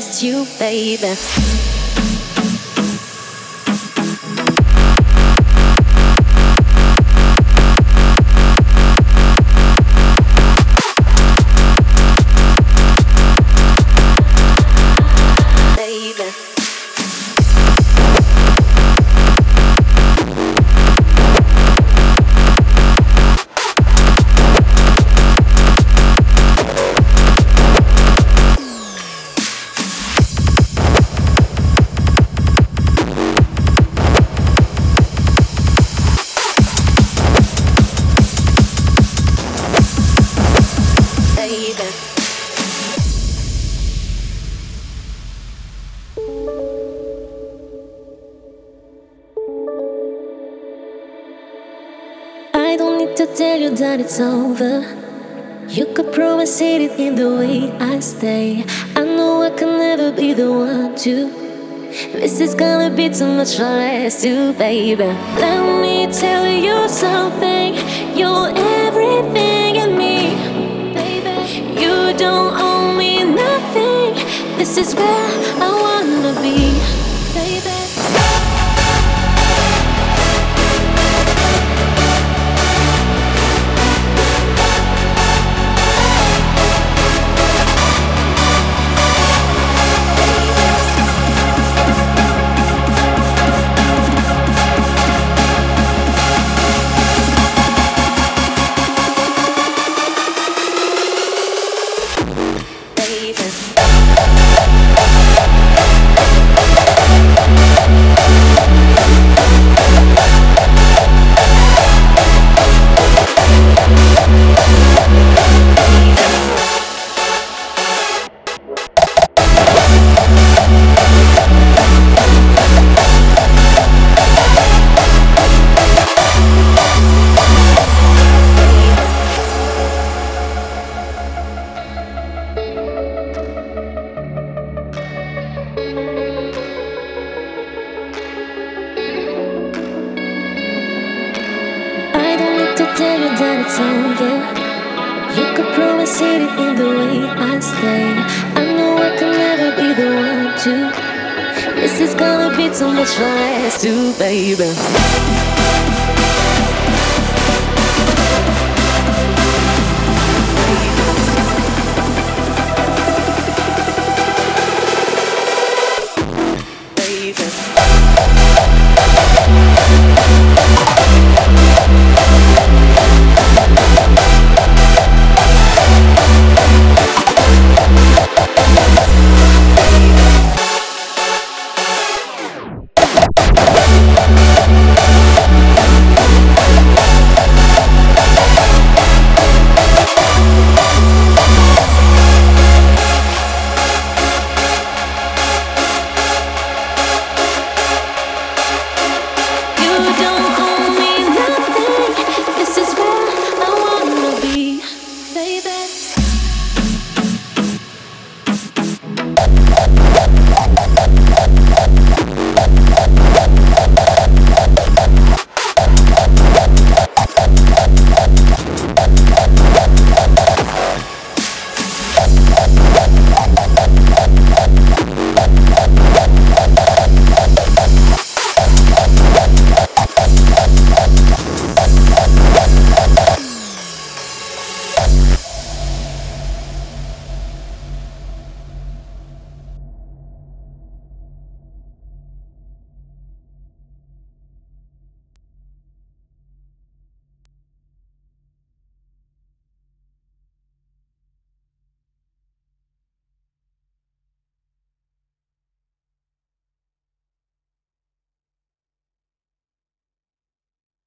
last you, baby. I don't need to tell you that it's over. You could probably see it in the way I stay. I know I can never be the one to. This is gonna be too much for us two, baby. Let me tell you something. You're everything in me, baby. You don't owe me nothing. This is where I wanna be, baby. Tell you that it's over. You could probably see it in the way I stay. I know I can never be the one to. This is gonna be too much for us two, baby.